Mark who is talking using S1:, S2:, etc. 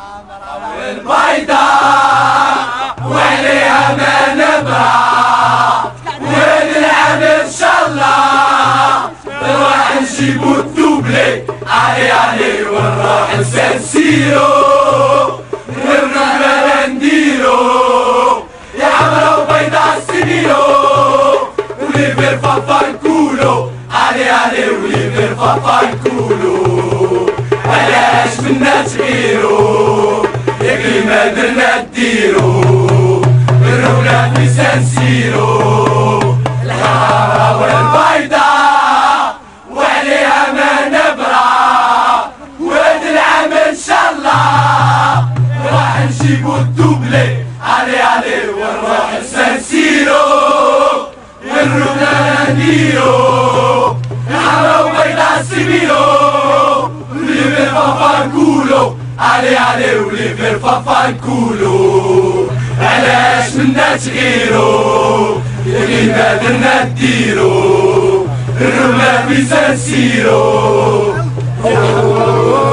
S1: البيضاء وعليها ما نبرى ونلعب ان شاء الله نروح نجيبو الدوبلي علي ونروح نسيرو ونروح بلا نديرو يا حمرا وبيضاء سنينو وليفر فافا نقولو علي وليفر فافا نقولو علاش منا تغيرو ياك ما درنا نديرو نروحنا في سانسيرو الحمرا والبيضاء وعليها ما نبرى وهاد العام ان شاء الله راح نجيبو الدوبلي علي ونروح لسانسيرو ونروحنا نديرو الحمرا وبيضاء سيمينو وليفر فافا نقولو علي وليفر فافا نقولو علاش منا تغيرو ياك ما درنا نديرو نروحنا في سانسيرو